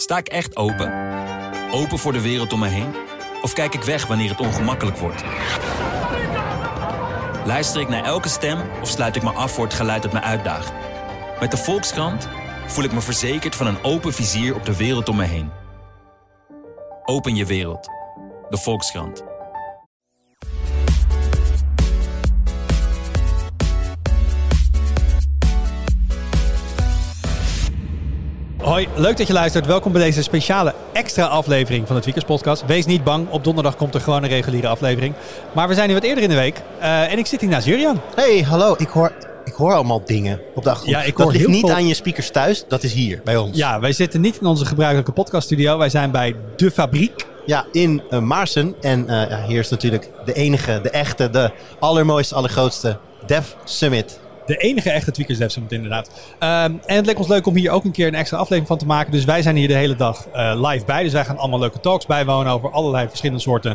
Sta ik echt open? Open voor de wereld om me heen? Of kijk ik weg wanneer het ongemakkelijk wordt? Luister ik naar elke stem of sluit ik me af voor het geluid dat me uitdaagt? Met de Volkskrant voel ik me verzekerd van een open vizier op de wereld om me heen. Open je wereld. De Volkskrant. Hoi, leuk dat je luistert. Welkom bij deze speciale extra aflevering van de Tweakers Podcast. Wees niet bang, op donderdag komt er gewoon een reguliere aflevering. Maar we zijn nu wat eerder in de week en ik zit hier naast Jurjan. Hey, hallo. Ik hoor allemaal dingen op de achtergrond. Ja, dat ligt niet aan je speakers thuis, dat is hier bij ons. Ja, wij zitten niet in onze gebruikelijke podcaststudio. Wij zijn bij De Fabriek. Ja, in Maarsen. En hier is natuurlijk de enige, de echte, de allermooiste, allergrootste Dev Summit. De enige echte Tweakers Dev Summit inderdaad. En het leek ons leuk om hier ook een keer een extra aflevering van te maken. Dus wij zijn hier de hele dag live bij. Dus wij gaan allemaal leuke talks bijwonen over allerlei verschillende soorten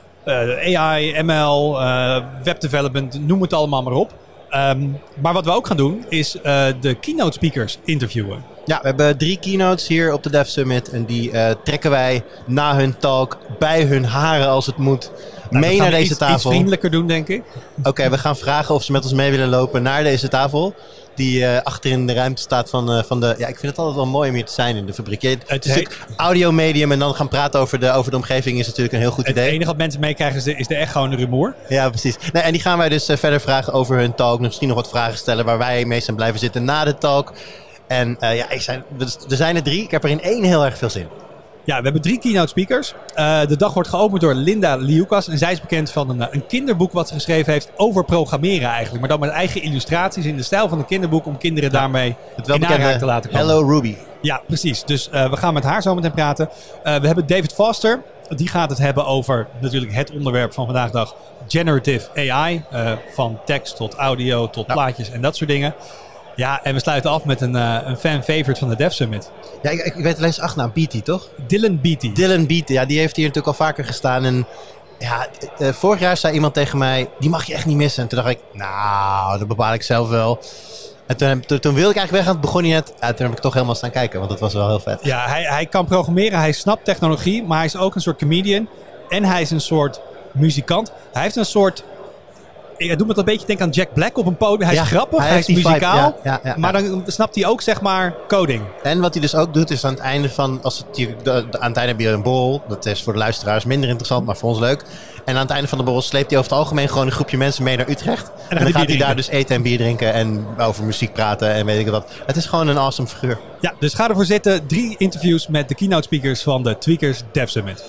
AI, ML, webdevelopment, noem het allemaal maar op. Maar wat we ook gaan doen is de keynote speakers interviewen. Ja, we hebben 3 keynotes hier op de Dev Summit. En die trekken wij na hun talk, bij hun haren als het moet, mee naar deze tafel. Iets vriendelijker doen, denk ik. Oké, we gaan vragen of ze met ons mee willen lopen naar deze tafel. Die achter in de ruimte staat van de... Ja, ik vind het altijd wel mooi om hier te zijn in de fabriek. Het is natuurlijk audiomedium en dan gaan praten over de omgeving is natuurlijk een heel goed idee. Het enige wat mensen meekrijgen is de echt gewoon rumoer. Ja, precies. Nee, en die gaan wij dus verder vragen over hun talk. Misschien nog wat vragen stellen waar wij mee zijn blijven zitten na de talk. En er zijn er 3. Ik heb er in 1 heel erg veel zin. Ja, we hebben 3 keynote speakers. De dag wordt geopend door Linda Liukas. En zij is bekend van een kinderboek wat ze geschreven heeft over programmeren eigenlijk. Maar dan met eigen illustraties in de stijl van een kinderboek om kinderen daarmee in aanraking te laten komen. Hello Ruby. Ja, precies. Dus we gaan met haar zo meteen praten. We hebben David Foster. Die gaat het hebben over natuurlijk het onderwerp van vandaag de dag. Generative AI. Van tekst tot audio tot plaatjes en dat soort dingen. Ja, en we sluiten af met een fan-favorite van de Dev Summit. Ja, ik weet alleen zijn achternaam. Beatty, toch? Dylan Beatty. Dylan Beatty, ja, die heeft hier natuurlijk al vaker gestaan. En ja, vorig jaar zei iemand tegen mij, die mag je echt niet missen. En toen dacht ik, nou, dat bepaal ik zelf wel. En toen wilde ik eigenlijk weg en begon hij net. Ja, toen heb ik toch helemaal staan kijken, want dat was wel heel vet. Ja, hij kan programmeren, hij snapt technologie, maar hij is ook een soort comedian. En hij is een soort muzikant. Hij heeft een soort... Ik doe me een beetje denken aan Jack Black op een podium. Hij is grappig, hij is muzikaal. Ja, maar dan snapt hij ook zeg maar coding. En wat hij dus ook doet is aan het einde van... aan het einde heb je een borrel. Dat is voor de luisteraars minder interessant, maar voor ons leuk. En aan het einde van de borrel sleept hij over het algemeen gewoon een groepje mensen mee naar Utrecht. En dan gaat hij daar dus eten en bier drinken en over muziek praten en weet ik wat. Het is gewoon een awesome figuur. Ja, dus ga ervoor zitten. 3 interviews met de keynote speakers van de Tweakers Dev Summit.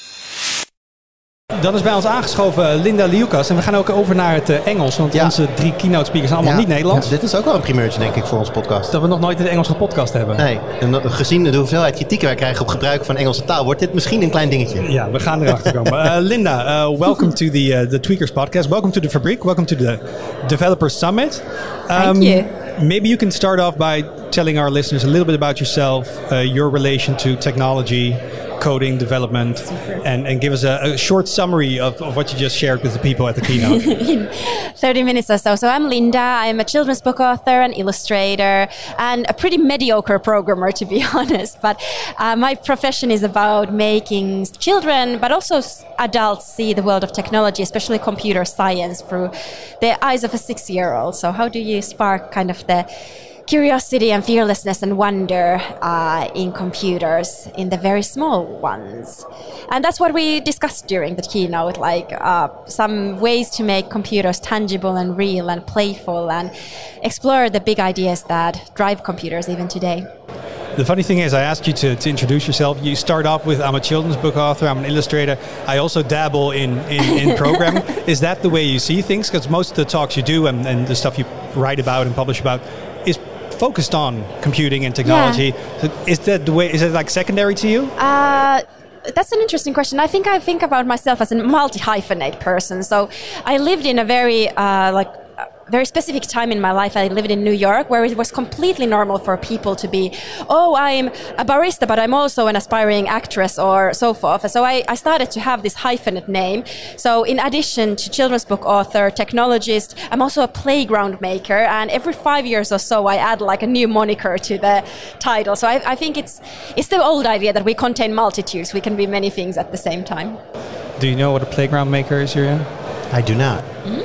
Dan is bij ons aangeschoven Linda Liukas. En we gaan ook over naar het Engels. Want onze 3 keynote speakers zijn allemaal niet Nederlands. Ja, dit is ook wel een primeurtje, denk ik, voor ons podcast. Dat we nog nooit een Engelse podcast hebben. Nee, en gezien de hoeveelheid kritieken wij krijgen op gebruik van Engelse taal, wordt dit misschien een klein dingetje. Ja, we gaan erachter komen. Linda, welcome to the Tweakers podcast. Welcome to the Fabriek. Welcome to the Developers Summit. Thank you. Maybe you can start off by telling our listeners a little bit about yourself, your relation to technology, coding, development, and give us a short summary of what you just shared with the people at the keynote. In 30 minutes or so. So I'm Linda. I'm a children's book author and illustrator and a pretty mediocre programmer, to be honest. But my profession is about making children, but also adults, see the world of technology, especially computer science, through the eyes of a 6-year-old. So how do you spark kind of the curiosity and fearlessness and wonder in computers, in the very small ones? And that's what we discussed during the keynote, like some ways to make computers tangible and real and playful and explore the big ideas that drive computers even today. The funny thing is, I asked you to introduce yourself. You start off with, I'm a children's book author, I'm an illustrator. I also dabble in programming. Is that the way you see things? Because most of the talks you do and the stuff you write about and publish about is focused on computing and technology. Yeah. Is that the way? Is it like secondary to you? That's an interesting question. I think about myself as a multi-hyphenate person. So I lived in a very very specific time in my life. I lived in New York, where it was completely normal for people to be, I'm a barista, but I'm also an aspiring actress or so forth. So I started to have this hyphenate name. So in addition to children's book author, technologist, I'm also a playground maker. And every 5 years or so, I add like a new moniker to the title. So I think it's the old idea that we contain multitudes. We can be many things at the same time. Do you know what a playground maker is, Jurjen? I do not.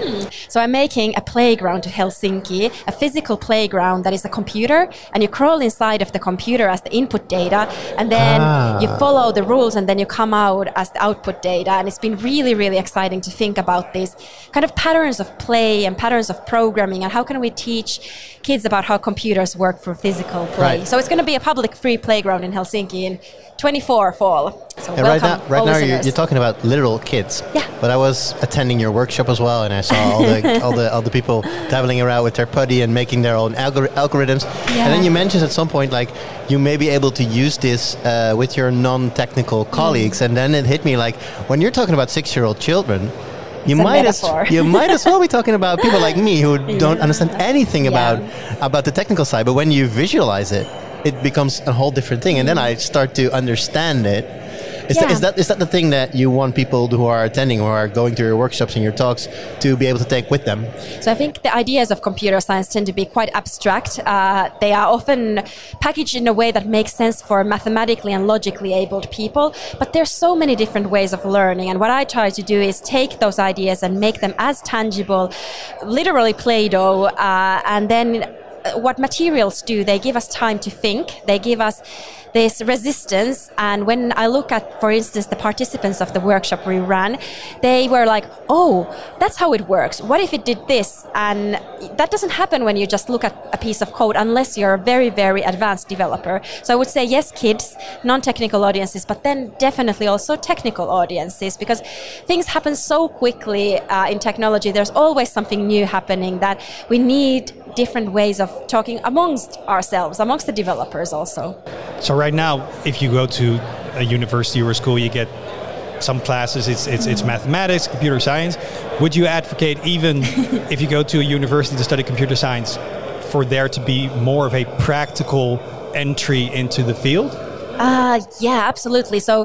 So I'm making a playground to Helsinki, a physical playground that is a computer, and you crawl inside of the computer as the input data, and then you follow the rules, and then you come out as the output data. And it's been really, really exciting to think about these kind of patterns of play and patterns of programming, and how can we teach kids about how computers work for physical play. Right. So it's going to be a public free playground in Helsinki in 24 fall. So right now you're talking about literal kids. Yeah. But I was attending your workshop as well, and I saw all the people dabbling around with their putty and making their own algorithms. Yeah. And then you mentioned at some point, like, you may be able to use this with your non-technical colleagues. And then it hit me, like, when you're talking about 6-year-old children, you might as well be talking about people like me who don't understand anything about the technical side. But when you visualize it, it becomes a whole different thing. And then I start to understand it. Is that the thing that you want people who are attending, who are going to your workshops and your talks, to be able to take with them? So I think the ideas of computer science tend to be quite abstract. They are often packaged in a way that makes sense for mathematically and logically abled people. But there's so many different ways of learning. And what I try to do is take those ideas and make them as tangible, literally Play-Doh, and then what materials do, they give us time to think. They give us this resistance. And when I look at, for instance, the participants of the workshop we ran, they were like, that's how it works. What if it did this? And that doesn't happen when you just look at a piece of code, unless you're a very, very advanced developer. So I would say, yes, kids, non-technical audiences, but then definitely also technical audiences, because things happen so quickly in technology. There's always something new happening that we need different ways of talking amongst ourselves, amongst the developers also. So right now, if you go to a university or a school, you get some classes, it's mathematics, computer science. Would you advocate, even if you go to a university to study computer science, for there to be more of a practical entry into the field? Yeah, absolutely. So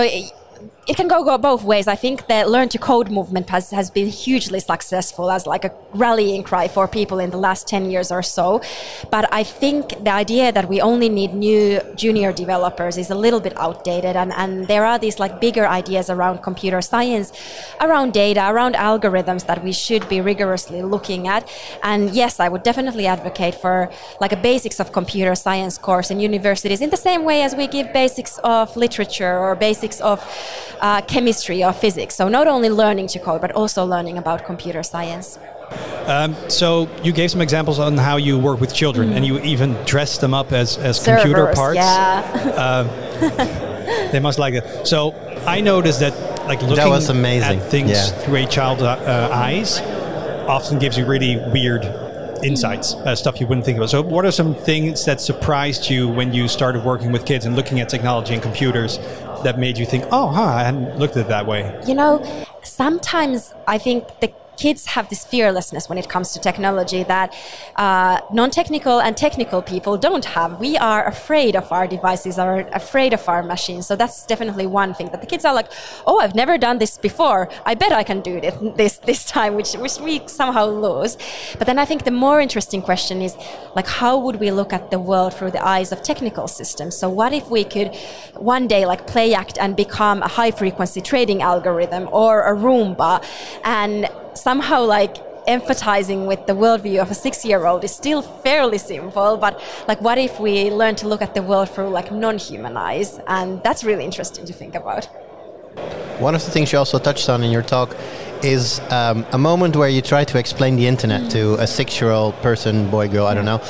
it can go both ways. I think the Learn to Code movement has been hugely successful as like a rallying cry for people in the last 10 years or so. But I think the idea that we only need new junior developers is a little bit outdated. And there are these like bigger ideas around computer science, around data, around algorithms that we should be rigorously looking at. And yes, I would definitely advocate for like a basics of computer science course in universities, in the same way as we give basics of literature or basics of chemistry or physics. So not only learning to code, but also learning about computer science. So you gave some examples on how you work with children, and you even dressed them up as Servers, computer parts. Yeah. They must like it. So I noticed that, like, looking at things through a child's eyes often gives you really weird insights, stuff you wouldn't think about. So what are some things that surprised you when you started working with kids and looking at technology and computers that made you think, I hadn't looked at it that way? You know, sometimes I think the kids have this fearlessness when it comes to technology that non-technical and technical people don't have. We are afraid of our devices, are afraid of our machines. So that's definitely one thing, that the kids are like, I've never done this before. I bet I can do this time, which we somehow lose. But then I think the more interesting question is, like, how would we look at the world through the eyes of technical systems? So what if we could one day like play act and become a high-frequency trading algorithm or a Roomba, and somehow like empathizing with the worldview of a 6-year-old is still fairly simple, but like what if we learn to look at the world through like non-human eyes? And that's really interesting to think about. One of the things you also touched on in your talk is a moment where you try to explain the internet to a 6-year-old person, boy, girl, I don't know.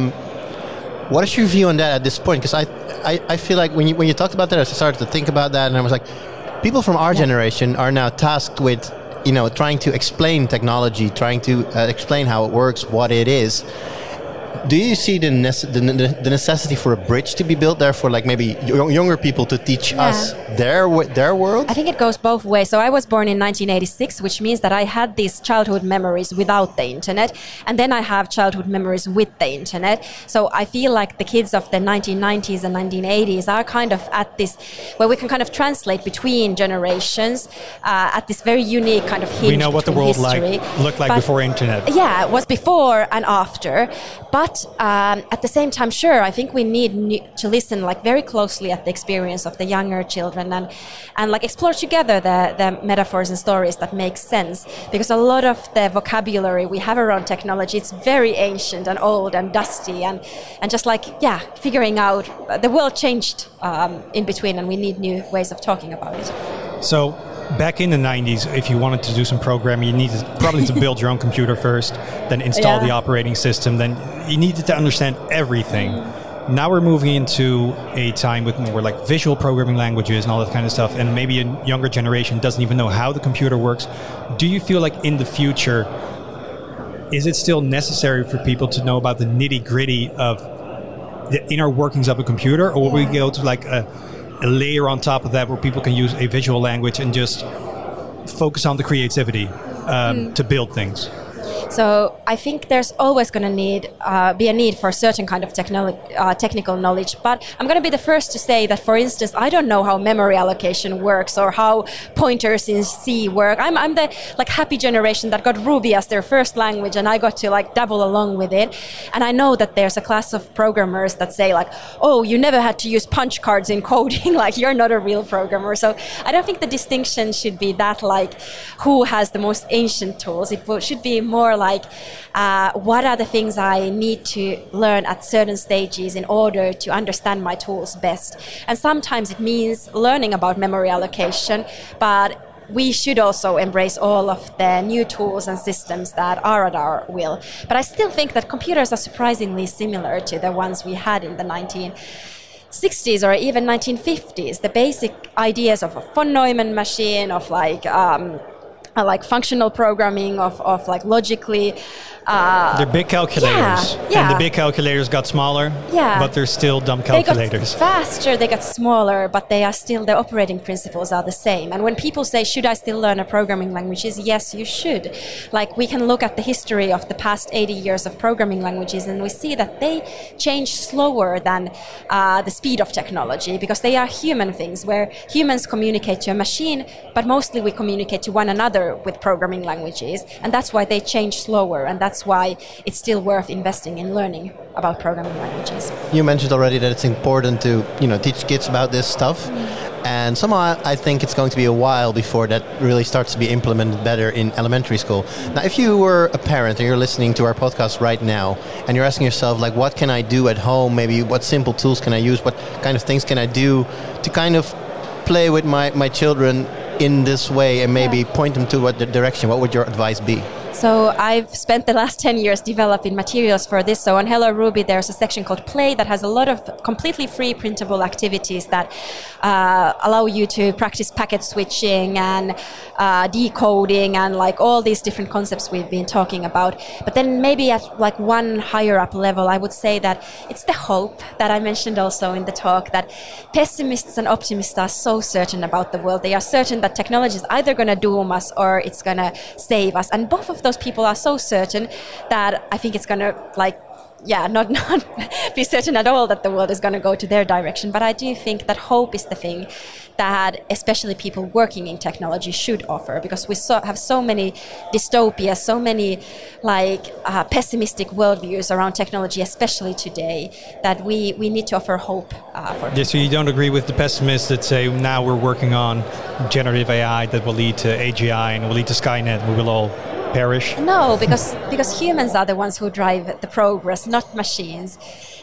What is your view on that at this point? Because I feel like when you talked about that, I started to think about that, and I was like, people from our generation are now tasked with trying to explain technology, trying to explain how it works, what it is. Do you see the necessity for a bridge to be built there for like maybe younger people to teach us their world? I think it goes both ways. So I was born in 1986, which means that I had these childhood memories without the internet, and then I have childhood memories with the internet. So I feel like the kids of the 1990s and 1980s are kind of at this, where we can kind of translate between generations at this very unique kind of hinge. We know what the world looked like before internet. Yeah, it was before and after. But at the same time, sure, I think we need to listen like very closely at the experience of the younger children and like explore together the metaphors and stories that make sense. Because a lot of the vocabulary we have around technology, it's very ancient and old and dusty and just like, figuring out the world changed in between and we need new ways of talking about it. So back in the 90s, if you wanted to do some programming, you needed probably to build your own computer first, then install the operating system, then you needed to understand everything. Now we're moving into a time with more like visual programming languages and all that kind of stuff, and maybe a younger generation doesn't even know how the computer works. Do you feel like in the future, is it still necessary for people to know about the nitty-gritty of the inner workings of a computer, or will we go to like a layer on top of that where people can use a visual language and just focus on the creativity to build things? So I think there's always going to be a need for a certain kind of technical knowledge. But I'm going to be the first to say that, for instance, I don't know how memory allocation works or how pointers in C work. I'm the like happy generation that got Ruby as their first language, and I got to like dabble along with it. And I know that there's a class of programmers that say like, oh, you never had to use punch cards in coding, like you're not a real programmer. So I don't think the distinction should be that like who has the most ancient tools. It should be more like what are the things I need to learn at certain stages in order to understand my tools best. And sometimes it means learning about memory allocation, but we should also embrace all of the new tools and systems that are at our will. But I still think that computers are surprisingly similar to the ones we had in the 1960s or even 1950s. The basic ideas of a von Neumann machine, of like functional programming, of like logically. They're big calculators. And the big calculators got smaller, but they're still dumb calculators. They got faster, they got smaller, but they are still, the operating principles are the same. And when people say, should I still learn a programming language? Yes, you should. Like we can look at the history of the past 80 years of programming languages and we see that they change slower than the speed of technology, because they are human things where humans communicate to a machine, but mostly we communicate to one another with programming languages. And that's why they change slower, and that's why it's still worth investing in learning about programming languages. You mentioned already that it's important to teach kids about this stuff. And somehow I think it's going to be a while before that really starts to be implemented better in elementary school. Now, if you were a parent and you're listening to our podcast right now and you're asking yourself, like, what can I do at home? Maybe what simple tools can I use? What kind of things can I do to kind of play with my children in this way and maybe point them to what the direction? What would your advice be? So I've spent the last 10 years developing materials for this. So on Hello Ruby, there's a section called Play that has a lot of completely free printable activities that allow you to practice packet switching and decoding and like all these different concepts we've been talking about. But then maybe at like one higher up level, I would say that it's the hope that I mentioned also in the talk, that pessimists and optimists are so certain about the world. They are certain that technology is either going to doom us or it's going to save us. And both of those people are so certain that I think it's going to not be certain at all that the world is going to go to their direction. But I do think that hope is the thing that especially people working in technology should offer, because we have so many dystopias, so many pessimistic worldviews around technology, especially today, that we need to offer hope for people. So you don't agree with the pessimists that say now we're working on generative AI that will lead to AGI and will lead to Skynet and we will all perish? No, because humans are the ones who drive the progress, not machines.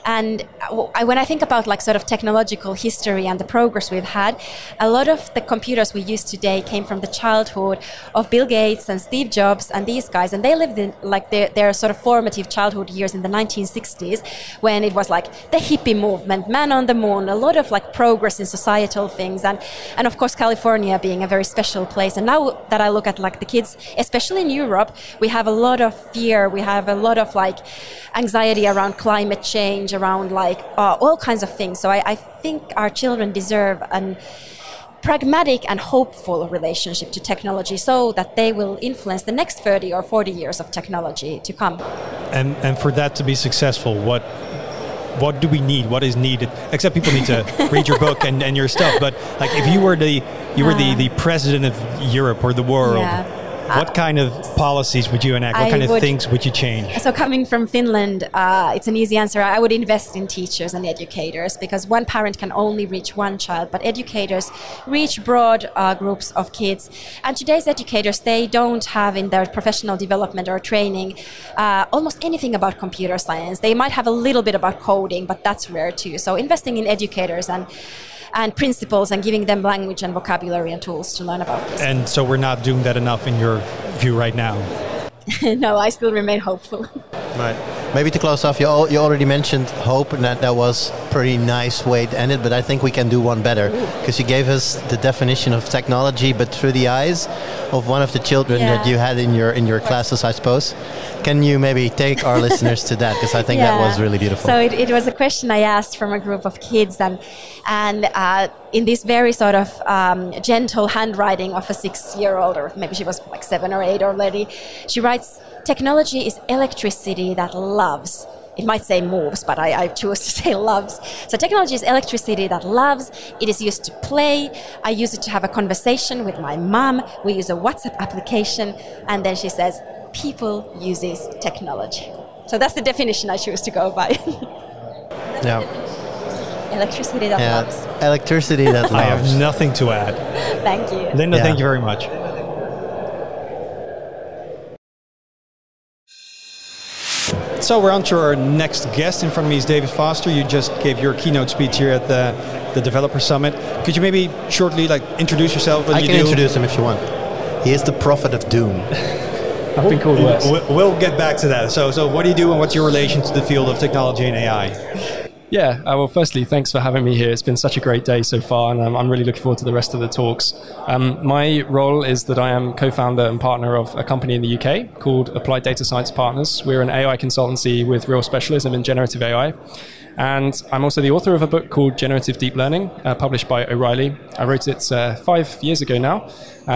And when I think about like sort of technological history and the progress we've had, a lot of the computers we use today came from the childhood of Bill Gates and Steve Jobs and these guys, and they lived in like their sort of formative childhood years in the 1960s, when it was like the hippie movement, man on the moon, a lot of like progress in societal things, and of course California being a very special place. And now that I look at like the kids, especially in Europe, we have a lot of fear, we have a lot of like anxiety around climate change, around like all kinds of things. So I think our children deserve an pragmatic and hopeful relationship to technology, so that they will influence the next 30 or 40 years of technology to come. And for that to be successful, what do we need? What is needed? Except people need to read your book and your stuff. But like, if you were the president of Europe or the world, what kind of policies would you enact? What kind of things would you change? So coming from Finland, it's an easy answer. I would invest in teachers and educators, because one parent can only reach one child, but educators reach broad groups of kids. And today's educators, they don't have in their professional development or training almost anything about computer science. They might have a little bit about coding, but that's rare too. So investing in educators and principles, and giving them language and vocabulary and tools to learn about this. And so we're not doing that enough in your view right now? No, I still remain hopeful. Right. Maybe to close off, you already mentioned hope, and that was a pretty nice way to end it, but I think we can do one better, because you gave us the definition of technology, but through the eyes of one of the children that you had in your classes, I suppose. Can you maybe take our listeners to that? Because I think that was really beautiful. So it was a question I asked from a group of kids, and in this very sort of gentle handwriting of a 6-year-old, or maybe she was like 7 or 8 already, she writes, "Technology is electricity that loves." It might say moves, but I choose to say loves. So technology is electricity that loves. It is used to play. I use it to have a conversation with my mom. We use a WhatsApp application. And then she says, people uses technology. So that's the definition I choose to go by. Yeah. Electricity that loves. Electricity that loves. I have nothing to add. Thank you. Linda, thank you very much. So we're on to our next guest. In front of me is David Foster. You just gave your keynote speech here at the Developer Summit. Could you maybe shortly introduce yourself? I can introduce him if you want. He is the prophet of doom. I've been called worse. We'll get back to that. So what do you do, and what's your relation to the field of technology and AI? Yeah, well, firstly, thanks for having me here. It's been such a great day so far, and I'm really looking forward to the rest of the talks. My role is that I am co-founder and partner of a company in the UK called Applied Data Science Partners. We're an AI consultancy with real specialism in generative AI. And I'm also the author of a book called Generative Deep Learning, published by O'Reilly. I wrote it 5 years ago now.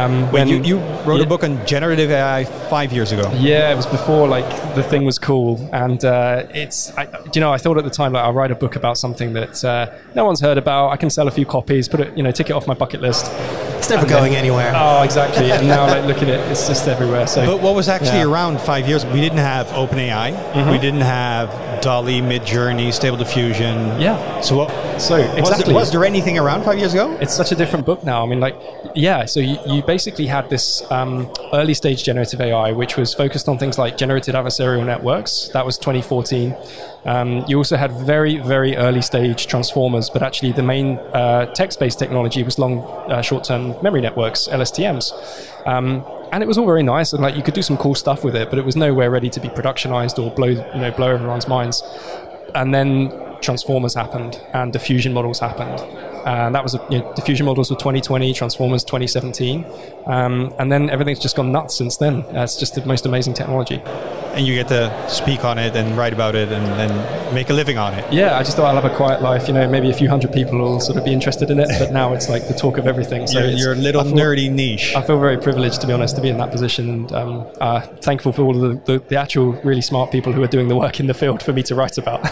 You wrote a book on generative AI 5 years ago? Yeah, it was before the thing was cool. And I thought at the time, I'll write a book about something that no one's heard about. I can sell a few copies, put it, tick it off my bucket list. It's never going anywhere. Oh, exactly. And now, look at it. It's just everywhere. So, but what was actually around 5 years? We didn't have OpenAI. Mm-hmm. We didn't have DALL-E, Midjourney, Stable Diffusion. Yeah. So exactly. Was there anything around 5 years ago? It's such a different book now. I mean, so you basically had this early stage generative AI, which was focused on things like generative adversarial networks. That was 2014. You also had very, very early stage transformers, but actually the main text-based technology was long short-term memory networks, LSTMs. And it was all very nice, and you could do some cool stuff with it, but it was nowhere ready to be productionized or blow everyone's minds. And then transformers happened, and diffusion models happened. And that was diffusion models were 2020, transformers 2017, and then everything's just gone nuts since then. It's just the most amazing technology. And you get to speak on it and write about it and make a living on it. Yeah, I just thought I'll have a quiet life. Maybe a few hundred people will sort of be interested in it, but now it's the talk of everything. So you're a little nerdy niche. I feel very privileged, to be honest, to be in that position, and thankful for all of the actual really smart people who are doing the work in the field for me to write about.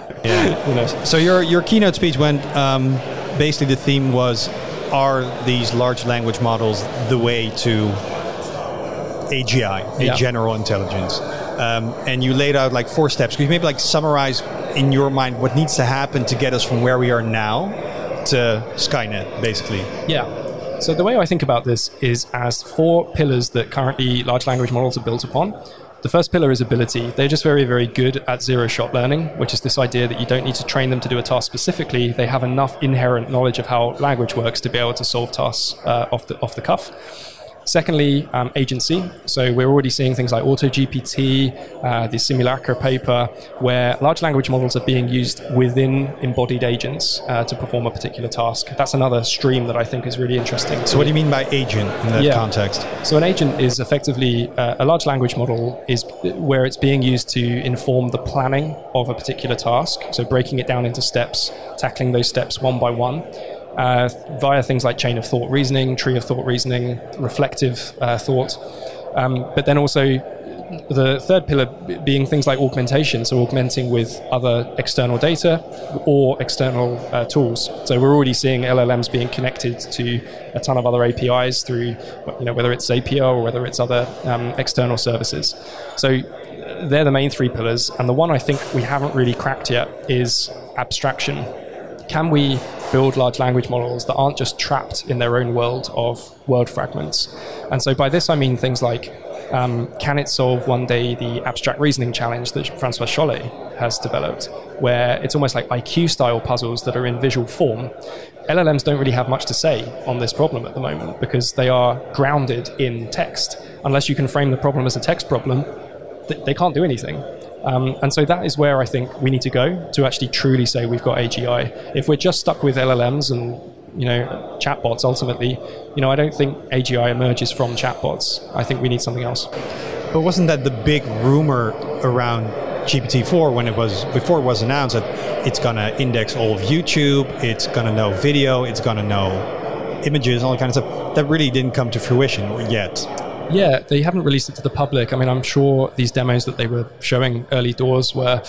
Yeah. So your keynote speech went. Basically, the theme was: are these large language models the way to AGI, general intelligence? And you laid out 4 steps. Could you maybe summarize in your mind what needs to happen to get us from where we are now to Skynet, basically? Yeah. So the way I think about this is as 4 pillars that currently large language models are built upon. The first pillar is ability. They're just very, very good at zero-shot learning, which is this idea that you don't need to train them to do a task specifically. They have enough inherent knowledge of how language works to be able to solve tasks off the cuff. Secondly, agency. So we're already seeing things like AutoGPT, the Simulacra paper, where large language models are being used within embodied agents to perform a particular task. That's another stream that I think is really interesting. So what do you mean by agent in that context? So an agent is effectively a large language model is where it's being used to inform the planning of a particular task. So breaking it down into steps, tackling those steps one by one. Via things like chain of thought reasoning, tree of thought reasoning, reflective thought. But then also the third pillar being things like augmentation, so augmenting with other external data or external tools. So we're already seeing LLMs being connected to a ton of other APIs through, whether it's Zapier or whether it's other external services. So they're the main three pillars. And the one I think we haven't really cracked yet is abstraction. Can we build large language models that aren't just trapped in their own world of word fragments? And so by this I mean things like, can it solve one day the abstract reasoning challenge that Francois Chollet has developed, where it's almost like IQ-style puzzles that are in visual form? LLMs don't really have much to say on this problem at the moment because they are grounded in text. Unless you can frame the problem as a text problem, they can't do anything. And so that is where I think we need to go to actually truly say we've got AGI. If we're just stuck with LLMs and chatbots ultimately, I don't think AGI emerges from chatbots. I think we need something else. But wasn't that the big rumor around GPT-4 before it was announced that it's gonna index all of YouTube, it's gonna know video, it's gonna know images, all that kind of stuff? That really didn't come to fruition yet. Yeah, they haven't released it to the public. I mean, I'm sure these demos that they were showing early doors were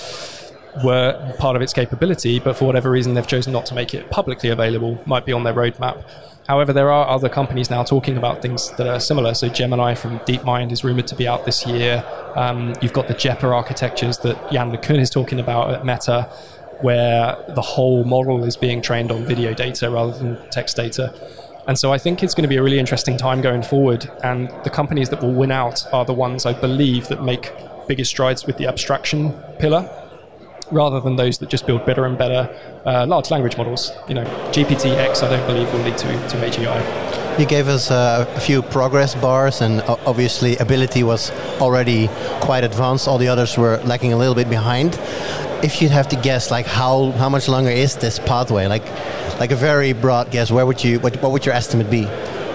part of its capability, but for whatever reason, they've chosen not to make it publicly available. Might be on their roadmap. However, there are other companies now talking about things that are similar. So Gemini from DeepMind is rumored to be out this year. You've got the JEPA architectures that Jan LeCun is talking about at Meta, where the whole model is being trained on video data rather than text data. And so I think it's going to be a really interesting time going forward. And the companies that will win out are the ones, I believe, that make bigger strides with the abstraction pillar, rather than those that just build better and better large language models. GPT-X, I don't believe, will lead to AGI. You gave us a few progress bars, and obviously ability was already quite advanced. All the others were lagging a little bit behind. If you'd have to guess, how much longer is this pathway? Like a very broad guess, what would your estimate be?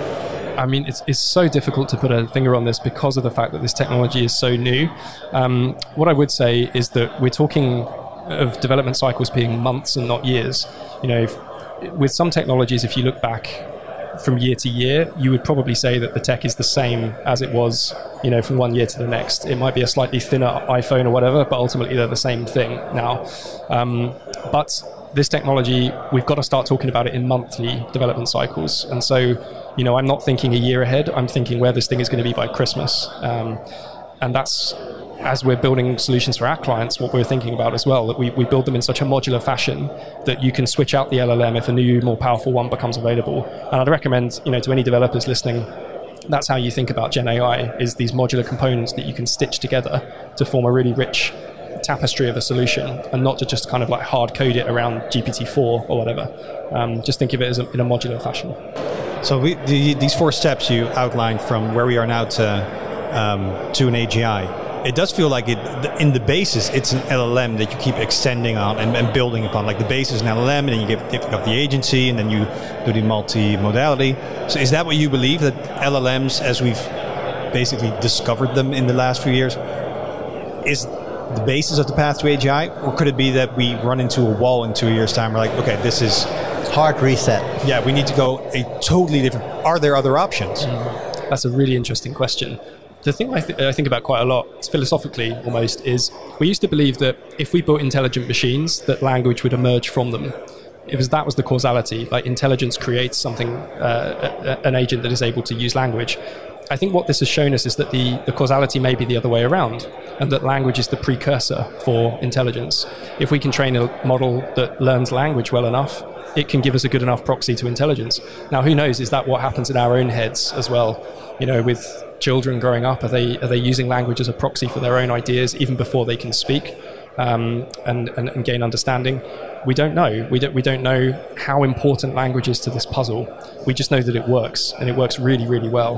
I mean, it's so difficult to put a finger on this because of the fact that this technology is so new. What I would say is that we're talking of development cycles being months and not years. With some technologies, if you look back from year to year, you would probably say that the tech is the same as it was, from one year to the next. It might be a slightly thinner iPhone or whatever, but ultimately they're the same thing now. But this technology, we've got to start talking about it in monthly development cycles. And so, I'm not thinking a year ahead. I'm thinking where this thing is going to be by Christmas. And that's, as we're building solutions for our clients, what we're thinking about as well, that we build them in such a modular fashion that you can switch out the LLM if a new, more powerful one becomes available. And I'd recommend, to any developers listening, that's how you think about Gen AI, is these modular components that you can stitch together to form a really rich tapestry of a solution, and not to just kind of hard code it around GPT-4 or whatever. Just think of it as in a modular fashion. So these 4 steps you outlined from where we are now to an AGI, it does feel like in the basis, it's an LLM that you keep extending on and building upon. Like the base is an LLM, and then you give the agency, and then you do the multi-modality. So is that what you believe, that LLMs, as we've basically discovered them in the last few years, is the basis of the path to AGI? Or could it be that we run into a wall in 2 years' time? We're like, okay, this is... hard reset. Yeah, we need to go a totally different... Are there other options? That's a really interesting question. The thing I think about quite a lot, philosophically almost, is we used to believe that if we built intelligent machines, that language would emerge from them. That was the causality, like intelligence creates something, an agent that is able to use language. I think what this has shown us is that the causality may be the other way around, and that language is the precursor for intelligence. If we can train a model that learns language well enough, it can give us a good enough proxy to intelligence. Now, who knows, is that what happens in our own heads as well? With children growing up? Are they using language as a proxy for their own ideas even before they can speak and gain understanding? We don't know. We don't know how important language is to this puzzle. We just know that it works, and it works really, really well.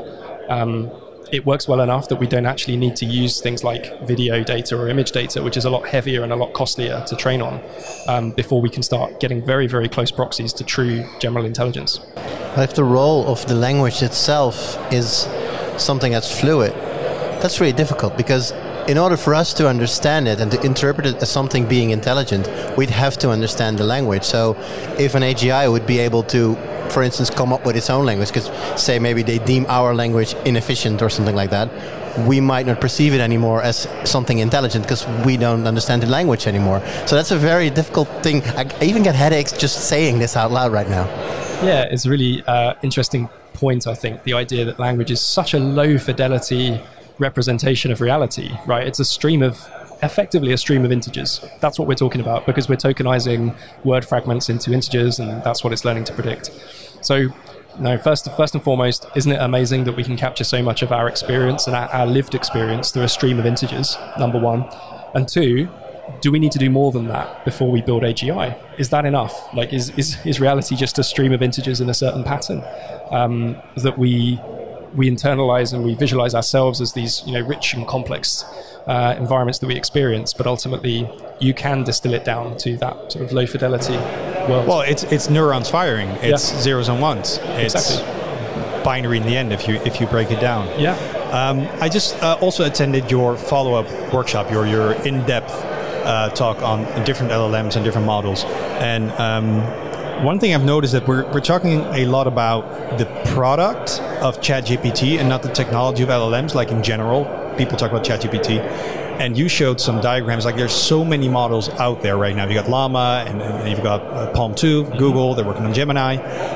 It works well enough that we don't actually need to use things like video data or image data, which is a lot heavier and a lot costlier to train on, before we can start getting very, very close proxies to true general intelligence. If the role of the language itself is something that's fluid, that's really difficult, because in order for us to understand it and to interpret it as something being intelligent, we'd have to understand the language. So if an AGI would be able to, for instance, come up with its own language, because say maybe they deem our language inefficient or something like that, we might not perceive it anymore as something intelligent because we don't understand the language anymore. So that's a very difficult thing. I even get headaches just saying this out loud right now. Yeah, it's a really interesting point, I think, the idea that language is such a low fidelity representation of reality, right? It's effectively a stream of integers. That's what we're talking about, because we're tokenizing word fragments into integers, and that's what it's learning to predict. So, first and foremost, isn't it amazing that we can capture so much of our experience and our lived experience through a stream of integers, number one? And two, do we need to do more than that before we build AGI? Is that enough? Like, is reality just a stream of integers in a certain pattern that we internalize and we visualize ourselves as these, rich and complex environments that we experience, but ultimately you can distill it down to that sort of low fidelity world. Well, it's neurons firing. It's zeros and ones. It's exactly binary in the end if you break it down. Yeah. I just also attended your follow-up workshop, your in-depth talk on different LLMs and different models. And one thing I've noticed that we're talking a lot about the product of ChatGPT and not the technology of LLMs. Like in general, people talk about ChatGPT, and you showed some diagrams. Like there's so many models out there right now. You got Llama, and you've got Palm 2, Google. They're working on Gemini.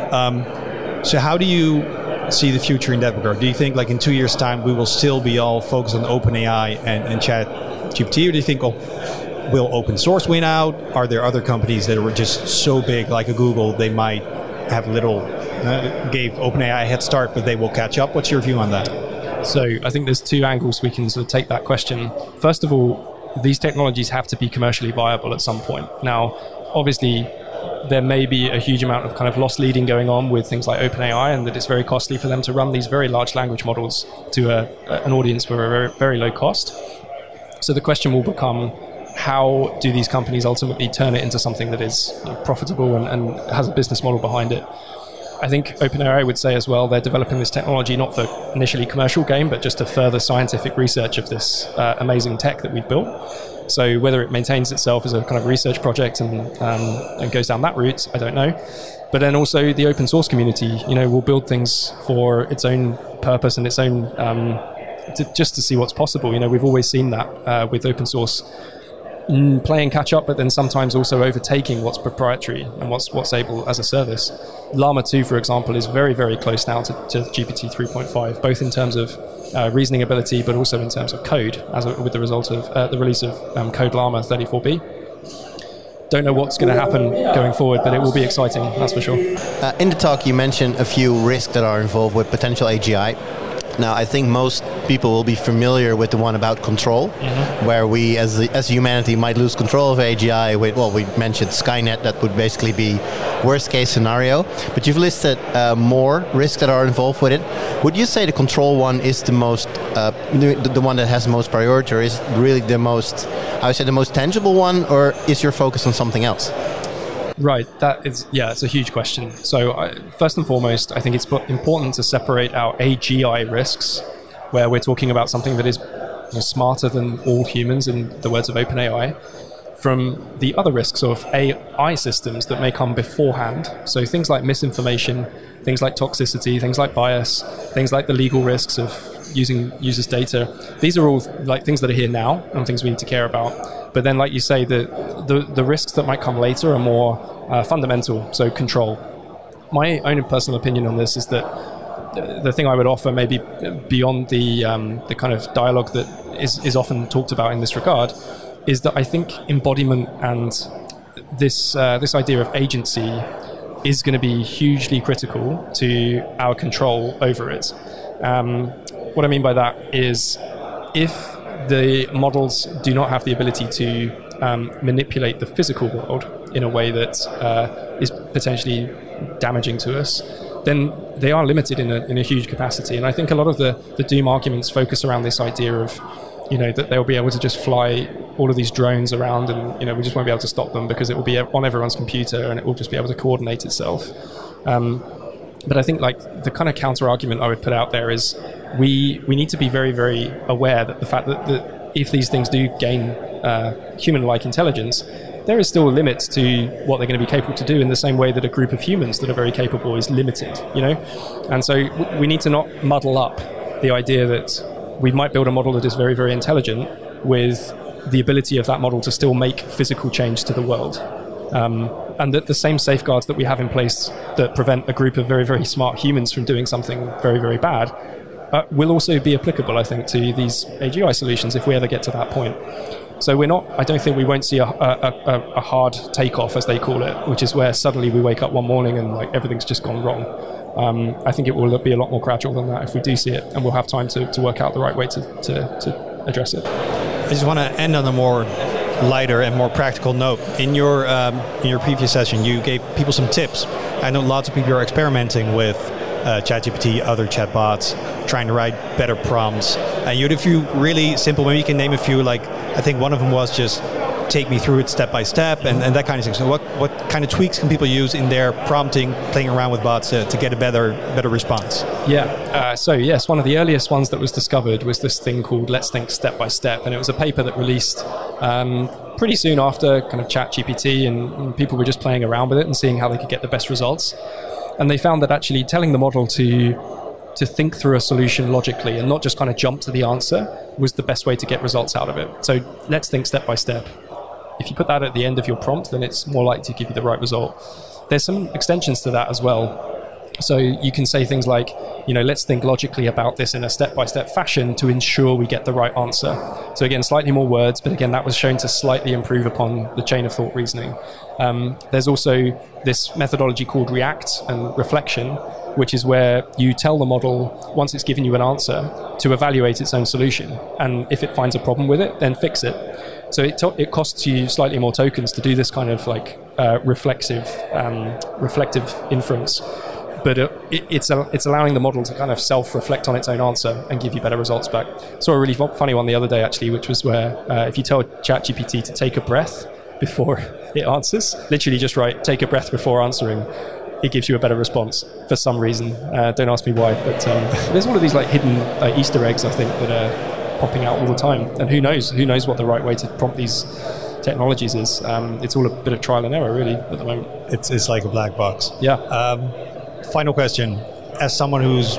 So how do you see the future in that regard? Do you think like in 2 years' time we will still be all focused on OpenAI and ChatGPT, or do you think will open source win out? Are there other companies that were just so big, like a Google, they might have gave OpenAI a head start, but they will catch up? What's your view on that? So I think there's two angles we can sort of take that question. First of all, these technologies have to be commercially viable at some point. Now, obviously, there may be a huge amount of kind of loss leading going on with things like OpenAI, and that it's very costly for them to run these very large language models to an audience for a very, very low cost. So the question will become, how do these companies ultimately turn it into something that is profitable and has a business model behind it? I think OpenAI would say as well, they're developing this technology not for initially commercial gain, but just to further scientific research of this amazing tech that we've built. So whether it maintains itself as a kind of research project and goes down that route, I don't know. But then also the open source community, will build things for its own purpose and its own, just to see what's possible. We've always seen that with open source playing catch up, but then sometimes also overtaking what's proprietary and what's able as a service. Llama 2, for example, is very, very close now to GPT 3.5, both in terms of reasoning ability, but also in terms of code, with the result of the release of Code Llama 34B. Don't know what's going to happen going forward, but it will be exciting, that's for sure. In the talk, you mentioned a few risks that are involved with potential AGI. Now, I think most people will be familiar with the one about control, where we, as humanity, might lose control of AGI. We mentioned Skynet, that would basically be worst case scenario. But you've listed more risks that are involved with it. Would you say the control one is the most, the one that has the most priority, or is really the most, the most tangible one, or is your focus on something else? Right, it's a huge question. So first and foremost, I think it's important to separate our AGI risks, where we're talking about something that is smarter than all humans, in the words of OpenAI, from the other risks of AI systems that may come beforehand. So things like misinformation, things like toxicity, things like bias, things like the legal risks of using users' data. These are all like things that are here now and things we need to care about. But then, like you say, the risks that might come later are more fundamental, so control. My own personal opinion on this is that the thing I would offer, maybe beyond the kind of dialogue that is often talked about in this regard, is that I think embodiment and this idea of agency is going to be hugely critical to our control over it. what I mean by that is if the models do not have the ability to manipulate the physical world in a way that is potentially damaging to us, then they are limited in a huge capacity. And I think a lot of the doom arguments focus around this idea of, that they'll be able to just fly all of these drones around and, we just won't be able to stop them because it will be on everyone's computer and it will just be able to coordinate itself. But I think the kind of counter argument I would put out there is we need to be very, very aware that the fact that if these things do gain human-like intelligence, there is still a limit to what they're going to be capable to do in the same way that a group of humans that are very capable is limited, And so we need to not muddle up the idea that we might build a model that is very, very intelligent with the ability of that model to still make physical change to the world. And that the same safeguards that we have in place that prevent a group of very, very smart humans from doing something very, very bad will also be applicable, I think, to these AGI solutions if we ever get to that point. So I don't think we won't see a hard takeoff, as they call it, which is where suddenly we wake up one morning and everything's just gone wrong. I think it will be a lot more gradual than that if we do see it, and we'll have time to work out the right way to address it. I just want to end on a more lighter and more practical note. In your previous session, you gave people some tips. I know lots of people are experimenting with ChatGPT, other chatbots, trying to write better prompts. And you had a few really simple, maybe you can name a few, I think one of them was just take me through it step by step and that kind of thing. So what kind of tweaks can people use in their prompting, playing around with bots to get a better response? Yeah, so yes, one of the earliest ones that was discovered was this thing called Let's Think Step by Step, and it was a paper that released pretty soon after kind of ChatGPT, and people were just playing around with it and seeing how they could get the best results. And they found that actually telling the model to think through a solution logically and not just kind of jump to the answer was the best way to get results out of it. So let's think step by step. If you put that at the end of your prompt, then it's more likely to give you the right result. There's some extensions to that as well. So you can say things like, let's think logically about this in a step-by-step fashion to ensure we get the right answer. So again, slightly more words, but again, that was shown to slightly improve upon the chain of thought reasoning. There's also this methodology called react and reflection, which is where you tell the model, once it's given you an answer, to evaluate its own solution. And if it finds a problem with it, then fix it. So it costs you slightly more tokens to do this kind of reflective inference. But it's allowing the model to kind of self-reflect on its own answer and give you better results back. Saw a really funny one the other day, actually, which was where if you tell ChatGPT to take a breath before it answers, literally just write, take a breath before answering, it gives you a better response for some reason. Don't ask me why, but there's all of these hidden Easter eggs, I think, that are popping out all the time. And who knows what the right way to prompt these technologies is. It's all a bit of trial and error, really, at the moment. It's like a black box. Yeah. Final question. As someone who's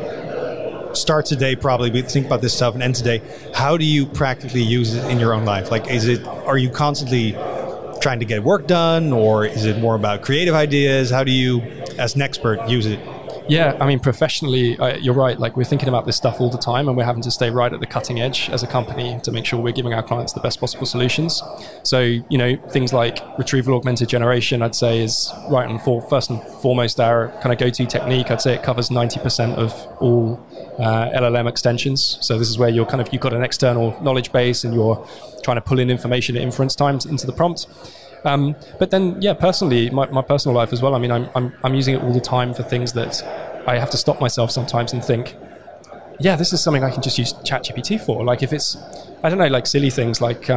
starts a day, probably think about this stuff and ends the day, how do you practically use it in your own life? Are you constantly trying to get work done, or is it more about creative ideas? How do you, as an expert, use it? Yeah, I mean, professionally, you're right. We're thinking about this stuff all the time, and we're having to stay right at the cutting edge as a company to make sure we're giving our clients the best possible solutions. So, things like retrieval augmented generation, I'd say, is right and first and foremost our kind of go-to technique. I'd say it covers 90% of all LLM extensions. So this is where you've got an external knowledge base, and you're trying to pull in information at inference times into the prompt. But then, personally, my personal life as well. I mean, I'm using it all the time for things that I have to stop myself sometimes and think, this is something I can just use ChatGPT for. If it's, I don't know, silly things like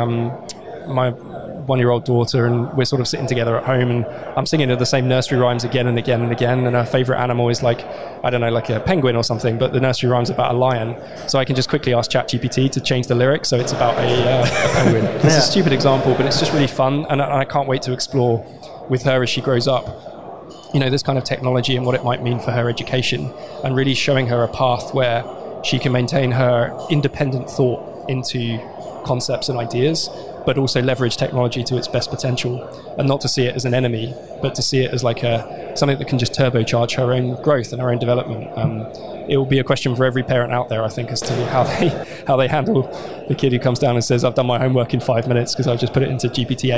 my 1-year-old daughter, and we're sort of sitting together at home, and I'm singing her the same nursery rhymes again and again and again, and her favorite animal is a penguin or something, but the nursery rhyme's about a lion. So I can just quickly ask ChatGPT to change the lyrics so it's about a penguin. It's a stupid example, but it's just really fun, and I can't wait to explore with her as she grows up, this kind of technology and what it might mean for her education, and really showing her a path where she can maintain her independent thought into concepts and ideas, but also leverage technology to its best potential, and not to see it as an enemy, but to see it as something that can just turbocharge her own growth and her own development. It will be a question for every parent out there, I think, as to how they handle the kid who comes down and says, I've done my homework in 5 minutes because I've just put it into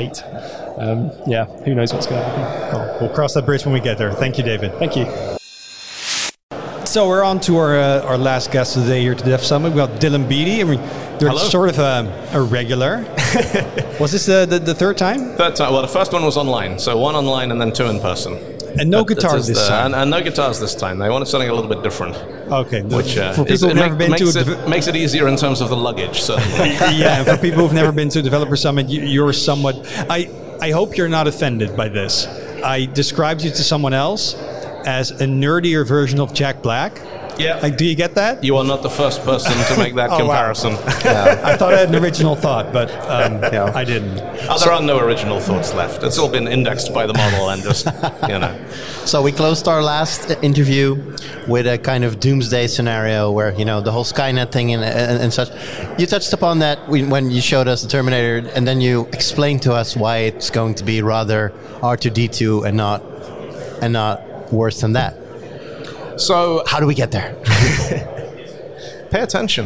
GPT-8. Who knows what's going to happen. We'll cross that bridge when we get there. Thank you, David. Thank you. So we're on to our last guest today here to Dev Summit. We've got Dylan Beattie. I mean, you're Hello. sort of a regular. Was this the third time? Third time. Well, the first one was online. So one online and then two in person. And no guitars this time. And no guitars this time. They wanted something a little bit different. Okay. Which for people who've never been makes it easier in terms of the luggage, certainly. Yeah, and for people who've never been to a Developer Summit, you're somewhat... I hope you're not offended by this. I described you to someone else as a nerdier version of Jack Black. Yeah. Like, do you get that? You are not the first person to make that comparison. Wow. Yeah. I thought I had an original thought, but I didn't. There are no original thoughts left. It's all been indexed by the model and just, So we closed our last interview with a kind of doomsday scenario where, the whole Skynet thing and such. You touched upon that when you showed us the Terminator, and then you explained to us why it's going to be rather R2-D2 and not worse than that. So how do we get there? Pay attention.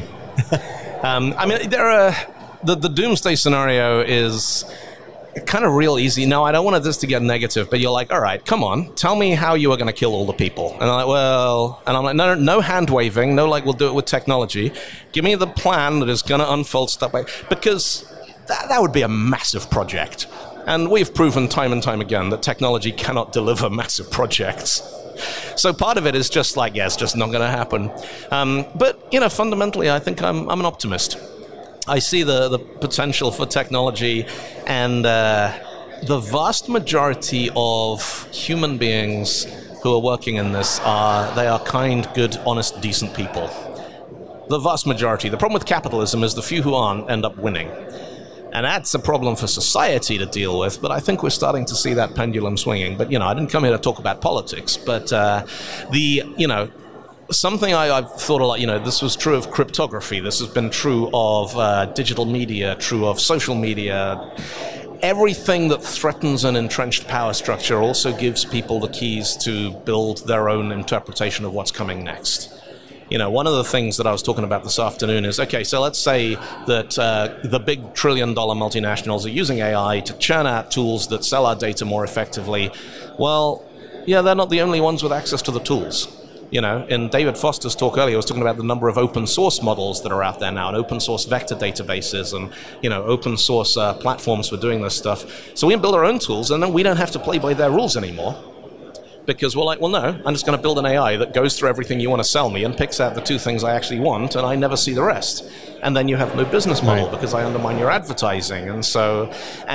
The doomsday scenario is kind of real easy. Now, I don't want this to get negative, but you're like, all right, come on, tell me how you are going to kill all the people. And I'm like, no hand waving, no, like, we'll do it with technology. Give me the plan that is going to unfold step by, because that would be a massive project. And we've proven time and time again that technology cannot deliver massive projects. So part of it is just like, it's just not going to happen. But fundamentally, I think I'm an optimist. I see the potential for technology, and the vast majority of human beings who are working in this they are kind, good, honest, decent people. The vast majority. The problem with capitalism is the few who aren't end up winning. And that's a problem for society to deal with, but I think we're starting to see that pendulum swinging. But, I didn't come here to talk about politics, but something I've thought a lot, this was true of cryptography, this has been true of digital media, true of social media. Everything that threatens an entrenched power structure also gives people the keys to build their own interpretation of what's coming next. One of the things that I was talking about this afternoon is, okay, so let's say that the big trillion-dollar multinationals are using AI to churn out tools that sell our data more effectively. Well, they're not the only ones with access to the tools. In David Foster's talk earlier, I was talking about the number of open source models that are out there now, and open source vector databases, and open source platforms for doing this stuff. So we can build our own tools, and then we don't have to play by their rules anymore. Because we're like, well, no, I'm just going to build an AI that goes through everything you want to sell me and picks out the two things I actually want, and I never see the rest. And then you have no business model because I undermine your advertising. And so,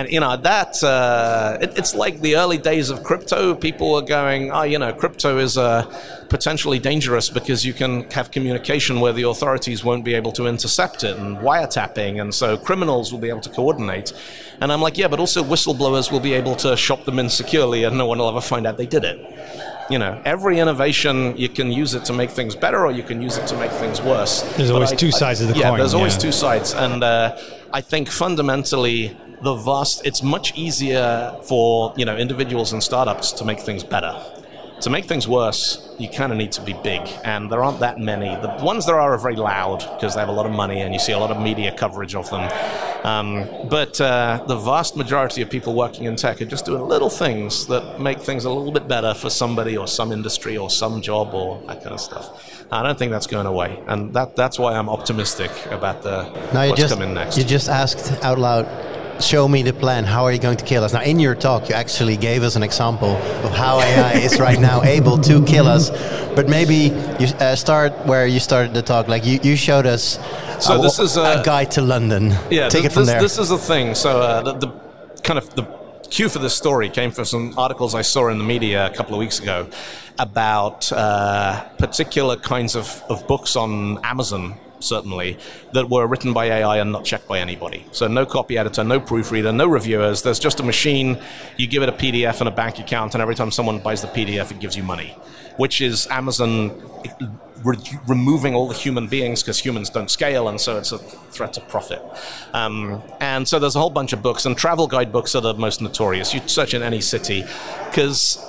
it's like the early days of crypto. People were going, crypto is potentially dangerous because you can have communication where the authorities won't be able to intercept it, and wiretapping, and so criminals will be able to coordinate. And I'm like, but also whistleblowers will be able to shop them in securely and no one will ever find out they did it. Every innovation, you can use it to make things better or you can use it to make things worse. There's always two sides of the coin. Yeah, there's always two sides. And I think fundamentally, it's much easier for individuals and startups to make things better. To make things worse, you kind of need to be big, and there aren't that many. The ones there are very loud because they have a lot of money, and you see a lot of media coverage of them. But the vast majority of people working in tech are just doing little things that make things a little bit better for somebody or some industry or some job or that kind of stuff. I don't think that's going away, and that's why I'm optimistic about what's coming next. You just asked out loud, show me the plan. How are you going to kill us? Now, in your talk, you actually gave us an example of how AI is right now able to kill us. But maybe you start where you started the talk. Like you showed us this is a guide to London. Yeah, Take it from there. This is the thing. So the cue for this story came from some articles I saw in the media a couple of weeks ago about particular kinds of books on Amazon, certainly, that were written by AI and not checked by anybody. So no copy editor, no proofreader, no reviewers. There's just a machine. You give it a PDF and a bank account, and every time someone buys the PDF, it gives you money, which is Amazon removing all the human beings because humans don't scale, and so it's a threat to profit. And so there's a whole bunch of books, and travel guide books are the most notorious. You search in any city, because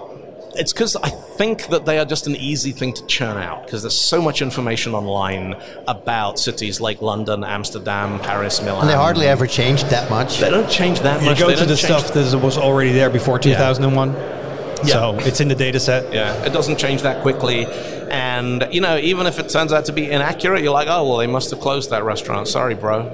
I think that they are just an easy thing to churn out, because there's so much information online about cities like London, Amsterdam, Paris, Milan. And they hardly ever change that much. They don't change that much. You go to the stuff that was already there before 2001. So it's in the data set. Yeah, it doesn't change that quickly. And, even if it turns out to be inaccurate, you're like, oh, well, they must have closed that restaurant. Sorry, bro.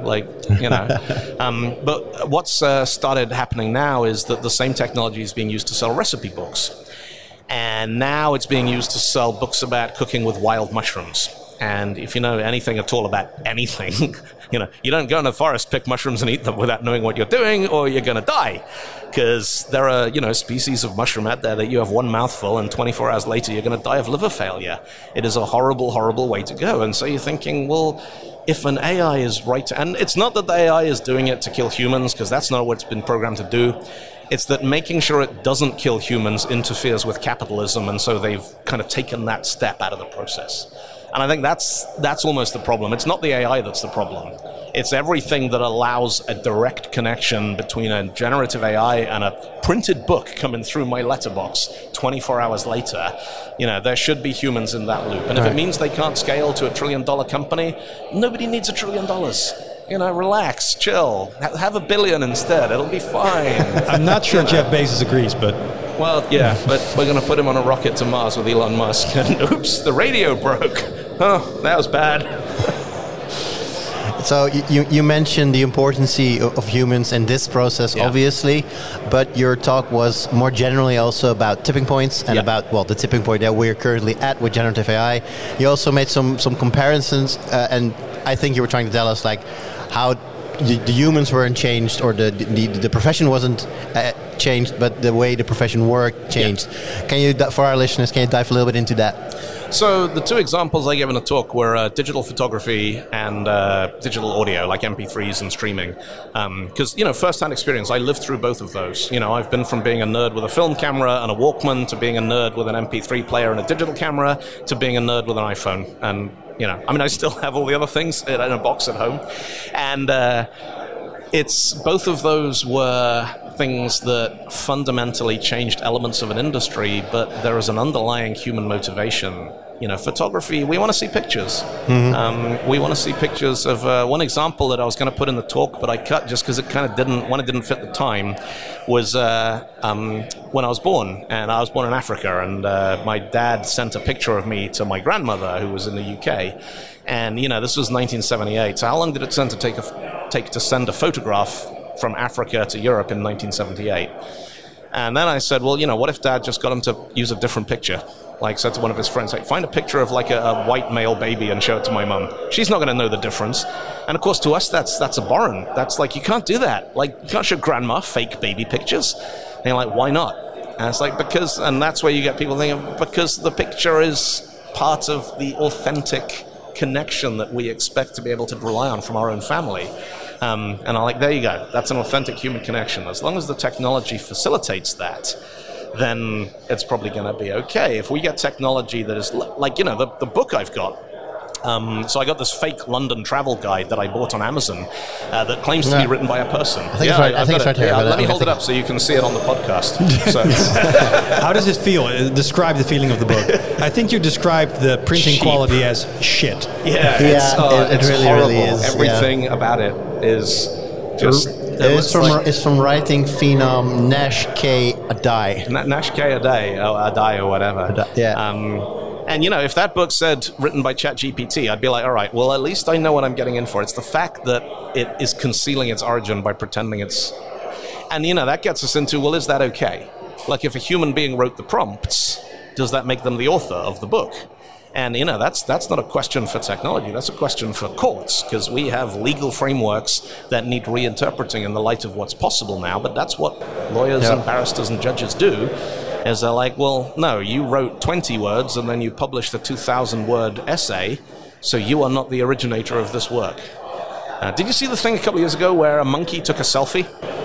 But what's started happening now is that the same technology is being used to sell recipe books. And now it's being used to sell books about cooking with wild mushrooms. And if you know anything at all about anything, you don't go in the forest, pick mushrooms and eat them without knowing what you're doing, or you're going to die. Because there are, species of mushroom out there that you have one mouthful and 24 hours later you're going to die of liver failure. It is a horrible, horrible way to go. And so you're thinking, well, if an AI is right, and it's not that the AI is doing it to kill humans, because that's not what it's been programmed to do. It's that making sure it doesn't kill humans interferes with capitalism, and so they've kind of taken that step out of the process. And I think that's almost the problem. It's not the AI that's the problem. It's everything that allows a direct connection between a generative AI and a printed book coming through my letterbox 24 hours later. There should be humans in that loop. And if it means they can't scale to $1 trillion company, nobody needs $1 trillion. Relax, chill. Have $1 billion instead. It'll be fine. I'm not sure Jeff Bezos agrees, but... Well, yeah, but we're going to put him on a rocket to Mars with Elon Musk. And oops, the radio broke. Oh, that was bad. So you mentioned the importance of humans in this process, obviously, but your talk was more generally also about tipping points and about, the tipping point that we're currently at with generative AI. You also made some comparisons, and I think you were trying to tell us how the humans weren't changed, or the profession wasn't changed, but the way the profession worked changed. Can you, for our listeners, can you dive a little bit into that? So the two examples I gave in the talk were digital photography and digital audio, like MP3s and streaming. Because, first-hand experience, I lived through both of those. I've been from being a nerd with a film camera and a Walkman to being a nerd with an MP3 player and a digital camera to being a nerd with an iPhone. And, I still have all the other things in a box at home. And it's both of those were things that fundamentally changed elements of an industry, but there is an underlying human motivation. Photography, we want to see pictures. Mm-hmm. We want to see pictures of one example that I was going to put in the talk, but I cut just because it kind of didn't fit the time, was when I was born. And I was born in Africa, and my dad sent a picture of me to my grandmother, who was in the UK. And, this was 1978. So how long did it take to send a photograph from Africa to Europe in 1978? And then I said, well, what if Dad just got him to use a different picture? Said to one of his friends, find a picture of a white male baby and show it to my mum. She's not going to know the difference. And of course, to us, that's abhorrent. That's you can't do that. You can't show grandma fake baby pictures. And you're like, why not? And it's because, and that's where you get people thinking, because the picture is part of the authentic connection that we expect to be able to rely on from our own family. And I'm there you go. That's an authentic human connection. As long as the technology facilitates that, then it's probably going to be okay. If we get technology that is the book I've got. So I got this fake London travel guide that I bought on Amazon that claims to be written by a person. I think it's right here. Yeah, let me hold it up so you can see it on the podcast. So. How does it feel? Describe the feeling of the book. I think you described the printing quality as shit. It's really, horrible. really is. Everything about it is just... It's from writing phenom Nash K. Adai. Nash K. Adai or whatever. And, if that book said written by ChatGPT, I'd be like, all right, well, at least I know what I'm getting in for. It's the fact that it is concealing its origin by pretending it's... And, that gets us into, well, is that okay? If a human being wrote the prompts, does that make them the author of the book? And, that's not a question for technology. That's a question for courts, because we have legal frameworks that need reinterpreting in the light of what's possible now. But that's what lawyers and barristers and judges do, is they're like, well, no, you wrote 20 words and then you published a 2,000-word essay, so you are not the originator of this work. Did you see the thing a couple of years ago where a monkey took a selfie?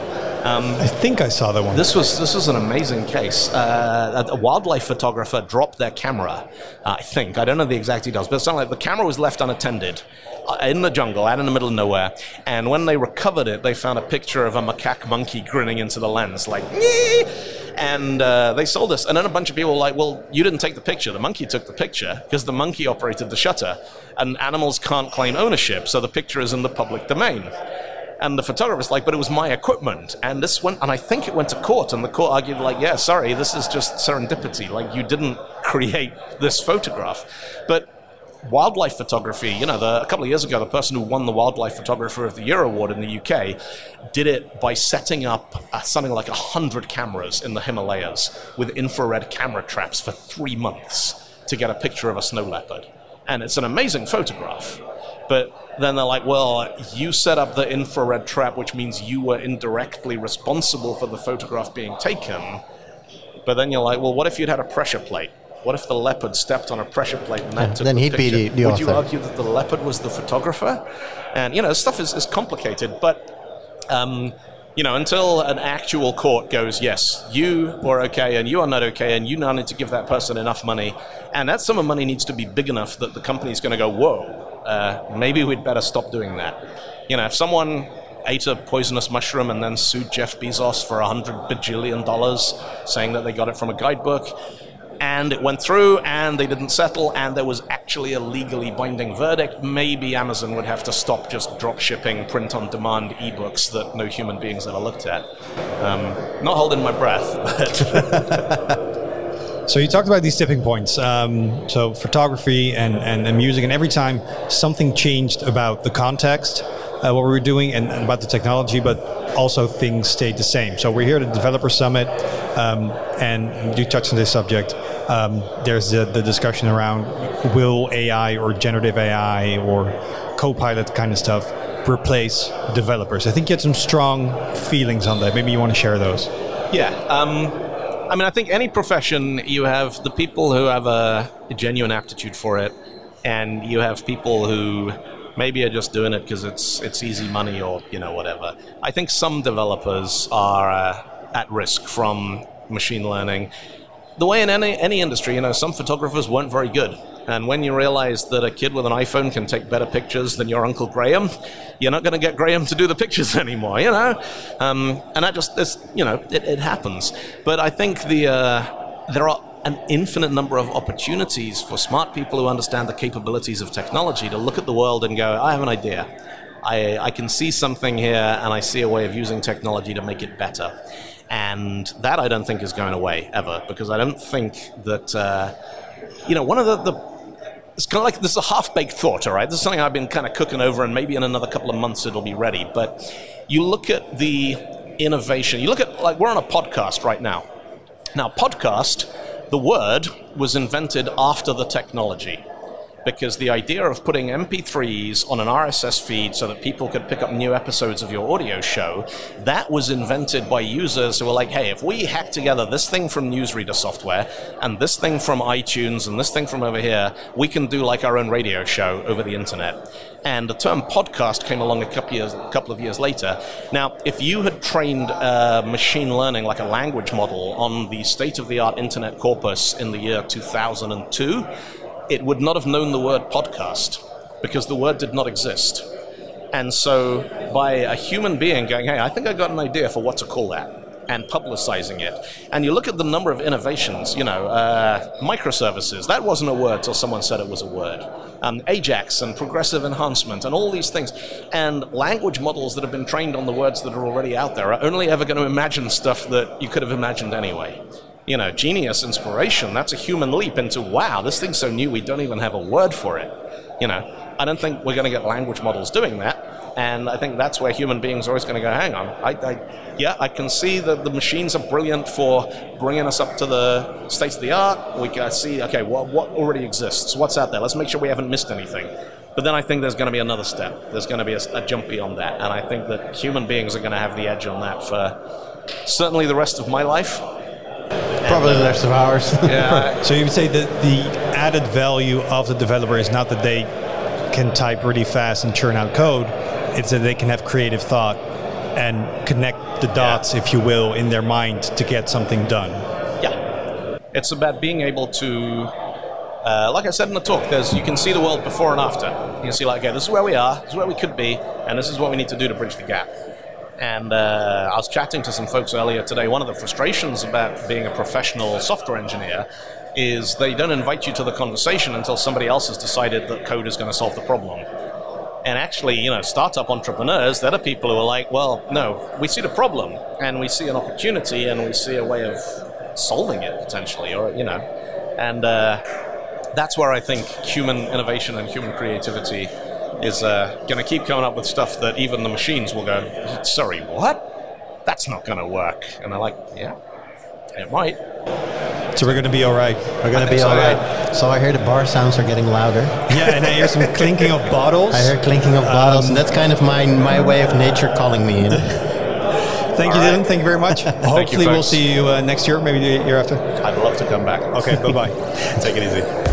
I think I saw that one. This was an amazing case. A wildlife photographer dropped their camera, I think. I don't know the exact details, but it's something like the camera was left unattended in the jungle, out in the middle of nowhere. And when they recovered it, they found a picture of a macaque monkey grinning into the lens, Nyeh! And they sold this. And then a bunch of people were like, well, you didn't take the picture. The monkey took the picture because the monkey operated the shutter. And animals can't claim ownership, so the picture is in the public domain. And the photographer's like, but it was my equipment. And this went, and I think it went to court, and the court argued like, yeah, sorry, this is just serendipity. Like, you didn't create this photograph. But wildlife photography, you know, a couple of years ago, the person who won the Wildlife Photographer of the Year award in the UK did it by setting up something like 100 cameras in the Himalayas with infrared camera traps for 3 months to get a picture of a snow leopard. And it's an amazing photograph. But then they're like, well, you set up the infrared trap, which means you were indirectly responsible for the photograph being taken. But then you're like, well, what if you'd had a pressure plate? What if the leopard stepped on a pressure plate and that took then the he'd picture? be the Would author. you argue that the leopard was the photographer? And, you know, stuff is complicated. But, you know, until an actual court goes, yes, you were okay and you are not okay, and you now need to give that person enough money, and that sum of money needs to be big enough that the company's going to go, whoa, maybe we'd better stop doing that. You know, if someone ate a poisonous mushroom and then sued Jeff Bezos for $100 bajillion saying that they got it from a guidebook, and it went through and they didn't settle and there was actually a legally binding verdict, maybe Amazon would have to stop just drop shipping print-on-demand ebooks that no human beings ever looked at. Not holding my breath, but... So you talked about these tipping points. So photography and music, and every time something changed about the context, what we were doing, and about the technology, but also things stayed the same. So we're here at the Developer Summit, and you touched on this subject. There's the discussion around will AI or generative AI or Copilot kind of stuff replace developers. I think you had some strong feelings on that. Maybe you want to share those. Yeah. I mean, I think any profession, you have the people who have a genuine aptitude for it, and you have people who maybe are just doing it because it's easy money or, you know, whatever. I think some developers are at risk from machine learning. The way in any industry, you know, some photographers weren't very good. And when you realize that a kid with an iPhone can take better pictures than your Uncle Graham, you're not going to get Graham to do the pictures anymore, you know? And that just, you know, it happens. But I think there are an infinite number of opportunities for smart people who understand the capabilities of technology to look at the world and go, I have an idea. I can see something here, and I see a way of using technology to make it better. And that I don't think is going away ever, because I don't think that, you know, one of the it's kind of like, this is a half-baked thought, all right? This is something I've been kind of cooking over, and maybe in another couple of months it'll be ready. But you look at the innovation. You look at, like, we're on a podcast right now. Now, podcast, the word was invented after the technology, because the idea of putting MP3s on an RSS feed so that people could pick up new episodes of your audio show, that was invented by users who were like, hey, if we hack together this thing from newsreader software and this thing from iTunes and this thing from over here, we can do like our own radio show over the internet. And the term podcast came along a couple of years later. Now, if you had trained machine learning, like a language model, on the state-of-the-art internet corpus in the year 2002, it would not have known the word podcast, because the word did not exist. And so by a human being going, hey, I think I got an idea for what to call that, and publicizing it. And you look at the number of innovations, you know, microservices, that wasn't a word till someone said it was a word. Ajax and progressive enhancement and all these things. And language models that have been trained on the words that are already out there are only ever going to imagine stuff that you could have imagined anyway. You know, genius, inspiration, that's a human leap into, wow, this thing's so new we don't even have a word for it. You know, I don't think we're going to get language models doing that. And I think that's where human beings are always going to go, hang on, I can see that the machines are brilliant for bringing us up to the state of the art. We can see, okay, what already exists? What's out there? Let's make sure we haven't missed anything. But then I think there's going to be another step. There's going to be a jump beyond that. And I think that human beings are going to have the edge on that for certainly the rest of my life. Probably the rest of ours. Yeah. So you would say that the added value of the developer is not that they can type really fast and churn out code, it's that they can have creative thought and connect the dots, if you will, in their mind to get something done. Yeah. It's about being able to, like I said in the talk, you can see the world before and after. You can see, like, okay, this is where we are, this is where we could be, and this is what we need to do to bridge the gap. And I was chatting to some folks earlier today. One of the frustrations about being a professional software engineer is they don't invite you to the conversation until somebody else has decided that code is going to solve the problem. And actually, startup entrepreneurs, they're the people who are like, well, no, we see the problem and we see an opportunity and we see a way of solving it potentially, and that's where I think human innovation and human creativity is going to keep coming up with stuff that even the machines will go, sorry, what? That's not going to work. And they're like, yeah, it might. So we're going to be all right. We're going to be all right. So I hear the bar sounds are getting louder. Yeah, and I hear some clinking of bottles. I hear clinking of bottles, and that's kind of my way of nature calling me in. Thank you, Dylan. Thank you very much. Hopefully we'll see you next year, maybe the year after. I'd love to come back. Okay, bye-bye. Take it easy.